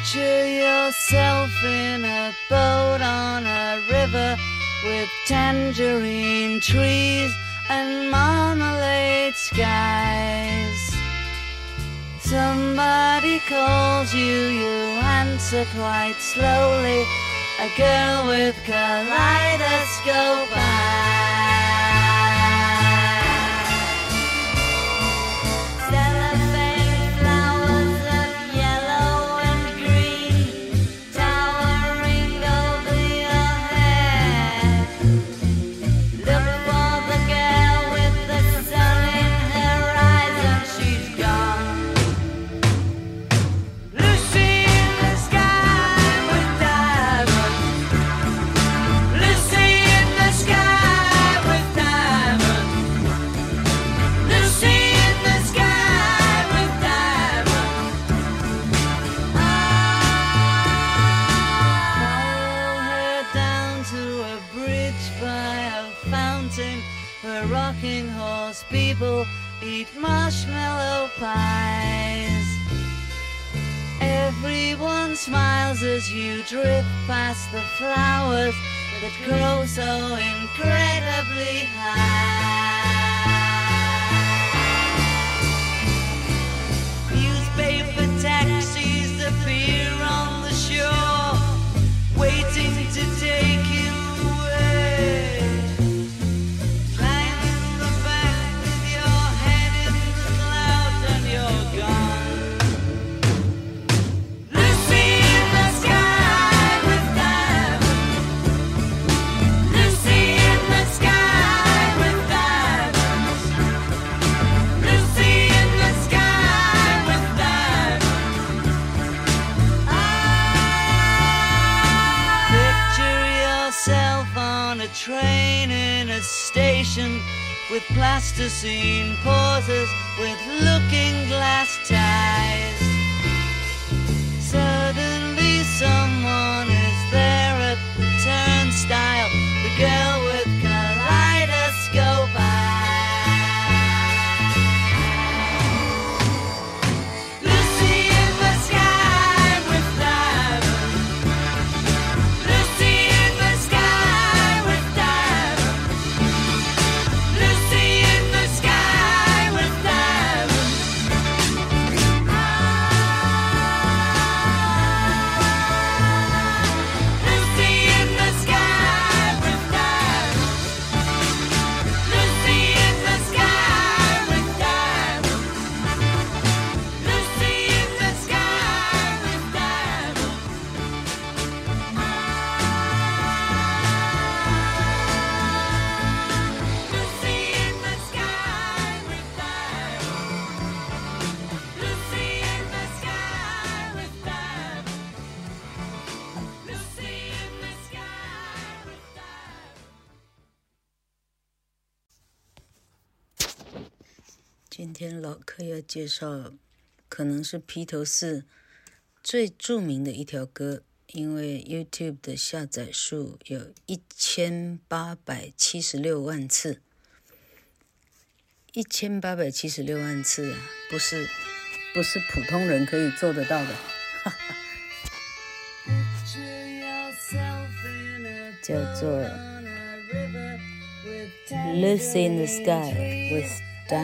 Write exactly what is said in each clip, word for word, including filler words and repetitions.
Picture yourself in a boat on a river with tangerine trees and marmalade skies. Somebody calls you, you answer quite slowly. A girl with kaleidoscope eyes. Cellophane flowers of yellow and green towering over your head. Look for the girl with the sun in her eyes and she's gone. Lucy in the sky with diamonds. Lucy in the sky with diamonds. Lucy in the sky with diamonds. Follow her down to a bridge by a fountain where rocking horse people eat marshmallow pies. Everyone smiles as you drift past the flowers that grow so incredibly high. Newspaper taxis appear on the shore, waiting to take you away. Climb in the back with your head in the clouds and you're gone. Lucy in the sky with diamonds. Lucy in the sky with diamonds. Lucy in the sky with diamonds. Picture yourself on a train in a station with plasticine pauses with looking glass ties. Suddenly someone is there at the turnstile, the girl with kaleidoscope eyes. Lucy in the sky with diamonds. Lucy in the sky with diamonds. Lucy in the sky with diamonds. Lucy in the sky with diamonds. Lucy in the sky with diamonds. Lucy in the sky with diamonds. Lucy in the sky with diamonds. Lucy in the sky with diamonds. Lucy in the sky with diamonds.今天老柯要介紹，可能是披頭士最著名的一條歌，因為 YouTube 的下載數有一千八百七十六萬次，一千八百七十六萬次啊，不是不是普通人可以做得到的，叫做 Lucy in the Sky with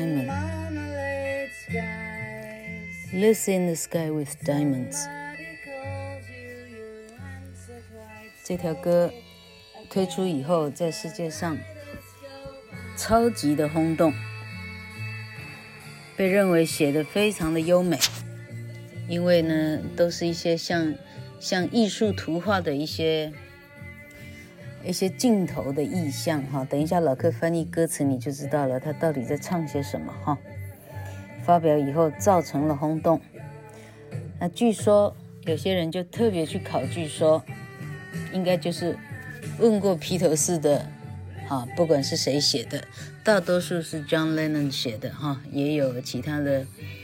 Diamonds。Lucy in the Sky with Diamonds 這條歌推出以後，在世界上超級的轟動，被認為寫得非常的優美，因為呢都是一些像像藝術圖畫的一些一些鏡頭的意象哈。等一下老柯翻譯歌詞你就知道了，他到底在唱些什麼哈。發表以後造成了轟動，那據說有些人就特別去考據說，應該就是問過披頭士的，哈，不管是誰寫的，大多數是 John Lennon 寫的哈，也有其他的，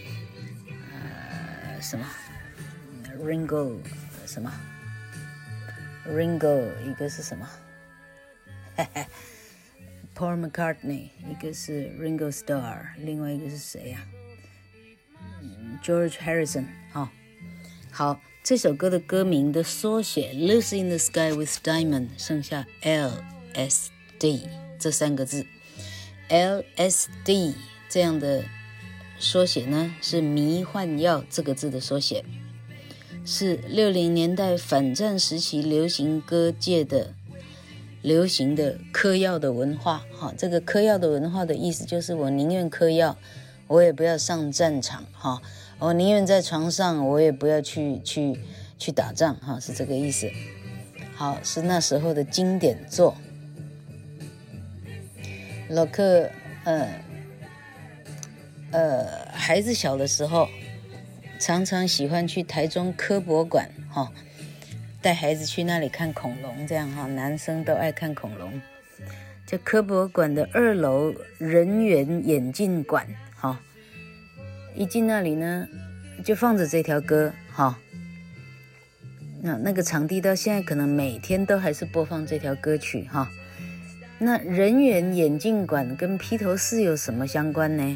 呃，什麼 Ringo 什麼 Ringo 一個是什麼，嘿嘿 Paul McCartney 一個是 Ringo Starr， 另外一個是誰呀？George Harrison 哈、哦， 好，這首歌的歌名的縮寫 Lucy in the Sky with Diamond 剩下 L S D 這三個字， L S D 這樣的縮寫呢是迷幻藥這個字的縮寫，是六零年代反戰時期流行歌界的流行的嗑藥的文化。哈，這個嗑藥的文化的意思就是我寧願嗑藥，我也不要上戰場。哈，我寧願在床上，我也不要去去去打仗。哈，是這個意思。好，是那時候的經典作。老克，呃呃，孩子小的時候，常常喜歡去台中科博館，哈、哦，帶孩子去那裡看恐龍，這樣哈、哦，男生都愛看恐龍。這科博館的二樓人猿眼鏡館，哈、哦，一進那裡呢，就放着這條歌，哈、哦，那那個場地到現在可能每天都還是播放這條歌曲，哈、哦。那人猿眼鏡館跟披頭士有什麼相關呢？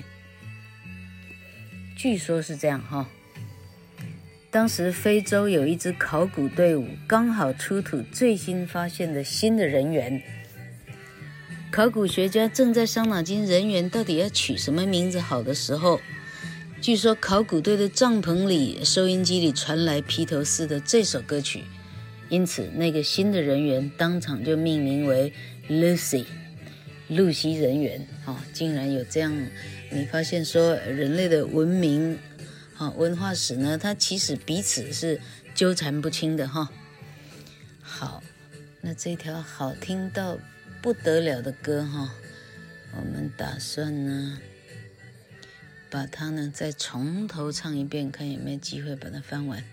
據說是這樣哈，當時非洲有一支考古隊伍剛好出土最新發現的新的人猿，考古學家正在傷腦筋人猿到底要取什麼名字好的時候，據說考古隊的帳篷裡收音機裡傳來披頭士的這首歌曲，因此那個新的人猿當場就命名為Lucy， 露西人猿，哦，竟然有這樣，你發現說人類的文明，哦，文化史呢，它其實彼此是糾纏不清的哈、哦。好，那這條好聽到不得了的歌哈、哦，我們打算呢，把它呢再從頭唱一遍，看有沒有機會把它翻完。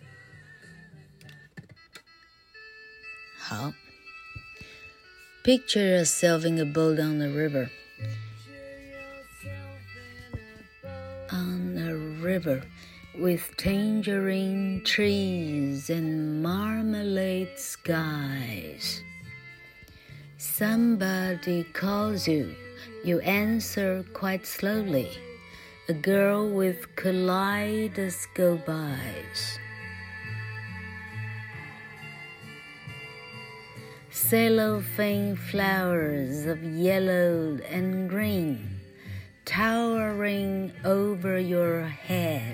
好。Picture yourself in a boat on the river. On a river with tangerine trees and marmalade skies. Somebody calls you. You answer quite slowly. A girl with kaleidoscope eyes.Cellophane flowers of yellow and green towering over your head.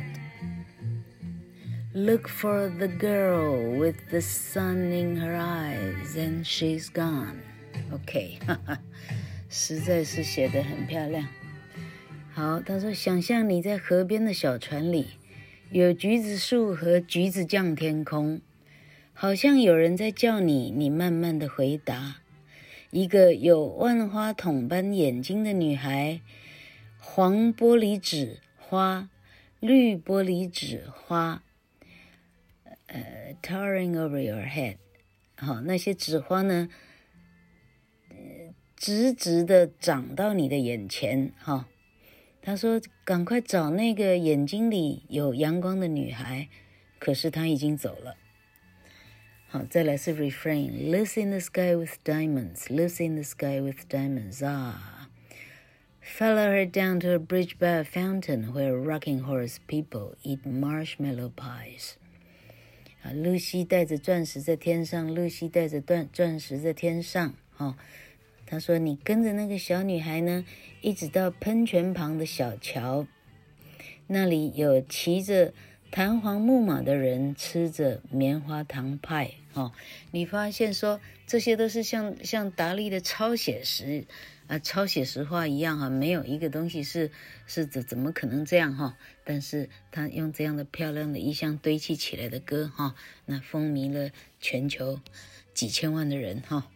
Look for the girl with the sun in her eyes and she's gone. OK, 實在是寫得很漂亮。好，他說想象你在河邊的小船裡，有橘子樹和橘子醬天空。好像有人在叫你，你慢慢的回答。一個有萬花筒般眼睛的女孩，黃玻璃紙花，綠玻璃紙花，呃 towering over your head。好，那些紙花呢，呃、直直的長到你的眼前。哈，他說趕快找那個眼睛裡有陽光的女孩，可是她已經走了。好，再來是 refrain. Lucy in the sky with diamonds. Lucy in the sky with diamonds. Ah. Follow her down to a bridge by a fountain where rocking horse people eat marshmallow pies. 啊，露西帶着鑽石在天上，露西帶着鑽鑽石在天上。哦，他說你跟着那個小女孩呢，一直到噴泉旁的小橋，那裡有騎着彈簧木馬的人吃着棉花糖派。哦，你發現說這些都是像像達利的超寫實啊，超寫實畫一樣哈、啊，沒有一個東西是是怎怎麼可能這樣哈、啊？但是他用這樣的漂亮的意象堆砌起來的歌哈、啊，那風靡了全球幾千萬的人哈、啊。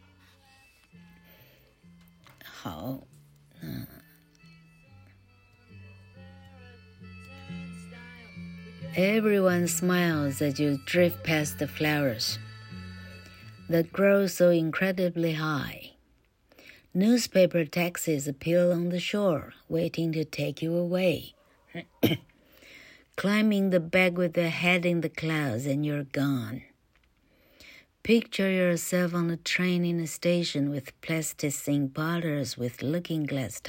好，嗯。Everyone smiles as you drift past the flowers that grow so incredibly high. Newspaper taxis appear on the shore, waiting to take you away. Climbing the back with the head in the clouds and you're gone. Picture yourself on a train in a station with plasticine bottles with looking-glass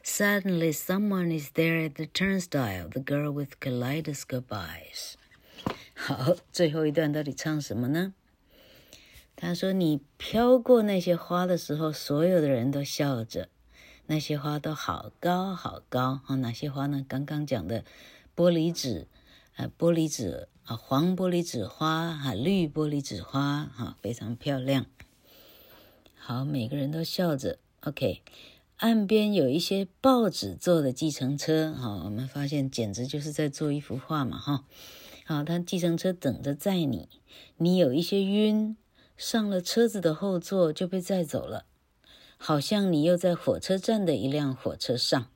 ties.Suddenly, someone is there at the turnstile, the girl with kaleidoscope eyes. 好，最後一段到底唱什麼呢？他說，你飄過那些花的時候，所有的人都笑着，那些花都好高好高。啊，哪些花呢？剛剛講的玻璃紙，啊，玻璃紙啊，黃玻璃紙花，啊，綠玻璃紙花，啊，非常漂亮。好，每個人都笑着。OK， 岸邊有一些報紙做的計程車。好，我們發現簡直就是在做一幅畫嘛，哈。好，他計程車等着載你，你有一些暈。上了車子的後座就被載走了，好像你又在火車站的一輛火車上。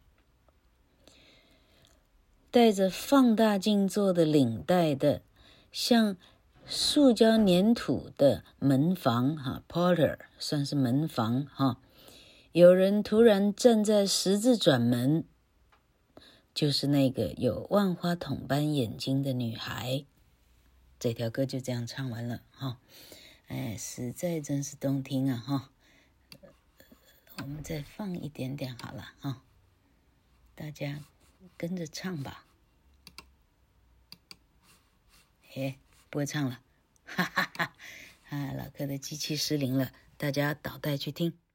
戴着放大鏡做的領帶的，像塑膠粘土的門房哈 ，Porter 算是門房哈。有人突然站在十字轉門，就是那個有萬花筒般眼睛的女孩。這條歌就這樣唱完了哈。哎，實在真是動聽啊！哈，我們再放一點點好了哈，大家跟着唱吧。嘿，不會唱了，哈哈哈！啊，老柯的機器失靈了，大家倒帶去聽。